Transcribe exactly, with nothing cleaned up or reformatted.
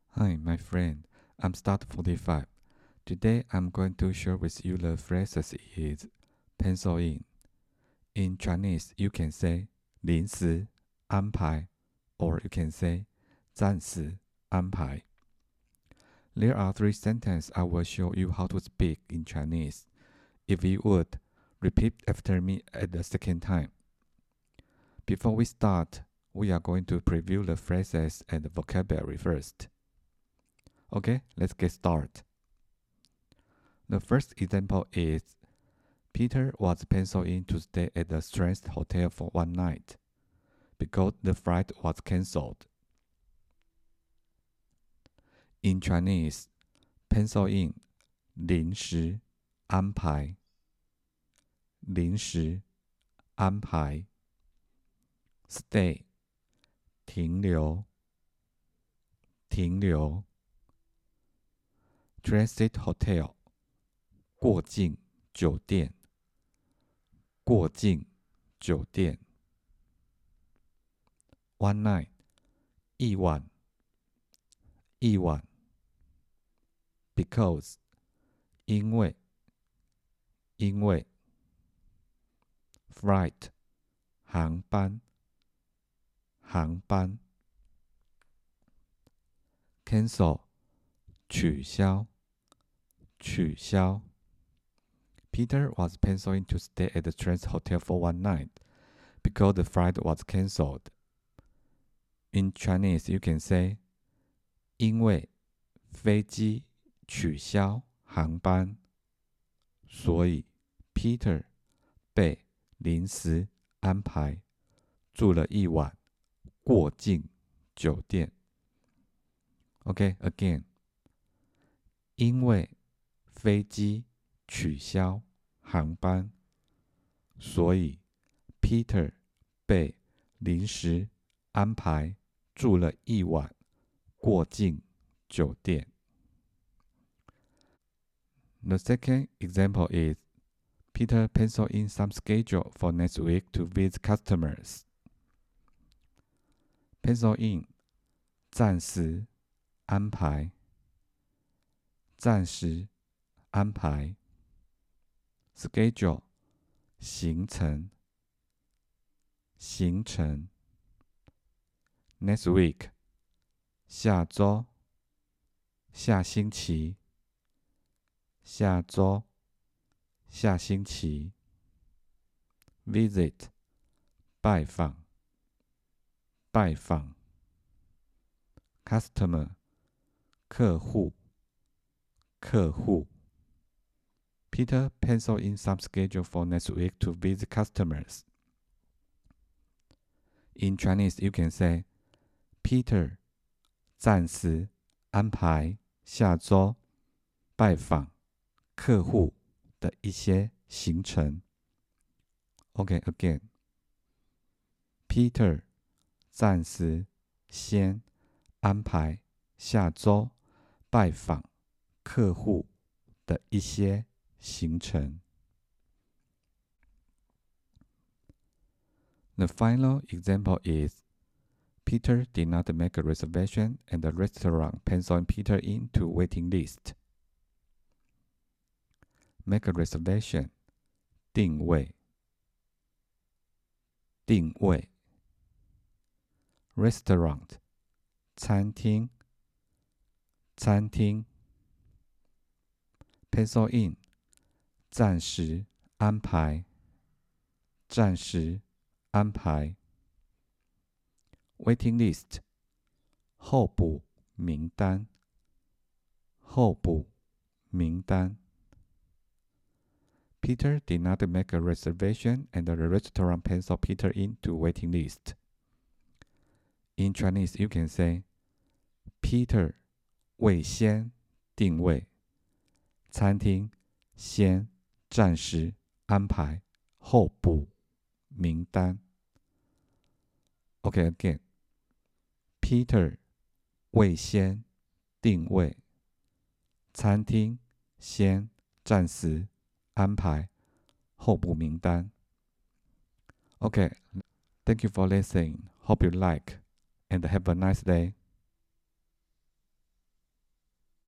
Hi, my friend. I'm Start forty-five. Today I'm going to share with you the phrases is pencil in. In Chinese, you can say 临时安排 or you can say 暂时安排. There are three sentences I will show you how to speak in Chinese. If you would, repeat after me at the second time. Before we start, we are going to preview the phrases and the vocabulary first. Okay, let's get started. The first example is Peter was penciled in to stay at the Strand Hotel for one night because the flight was cancelled. In Chinese, pencil in 临时安排临时安排 stay 停留停留 Transit Hotel 过境酒店过境酒店 One night 一晚一晚 Because 因为因为 Flight 航班航班 Cancel 取消取消 Peter was penciled in to stay at the Strand Hotel for one night because the flight was cancelled. In Chinese, you can say 因为飞机取消航班，所以 Peter 被临时安排住了一晚过境酒店。Okay, again. 因为飞机取消航班，所以 Peter 被临时安排住了一晚过境酒店。The second example is Peter penciled in some schedule for next week to visit customers. Pencil in 暂时安排暂时安排 schedule 行程行程 next week 下周下星期下周下星期 visit 拜访拜访 customer 客户客户 Peter penciled in some schedule for next week to visit customers. In Chinese, you can say Peter 暂时安排下周拜访客户的一些行程。Okay, again. Peter 暂时先安排下周拜访客户的一些行程。The final example is Peter did not make a reservation and the restaurant penciled Peter into waiting list. Make a reservation 定位定位 Restaurant 餐厅餐厅 Pencil in 暂时安排暂时安排 Waiting list 候补名单候补名单 Peter did not make a reservation and the restaurant penciled Peter into waiting list. In Chinese, you can say Peter 未先定位餐厅先暂时安排候补名单。Okay, again. Peter 未先定位餐厅先暂时安排候补名单。Okay, thank you for listening. Hope you like and have a nice day.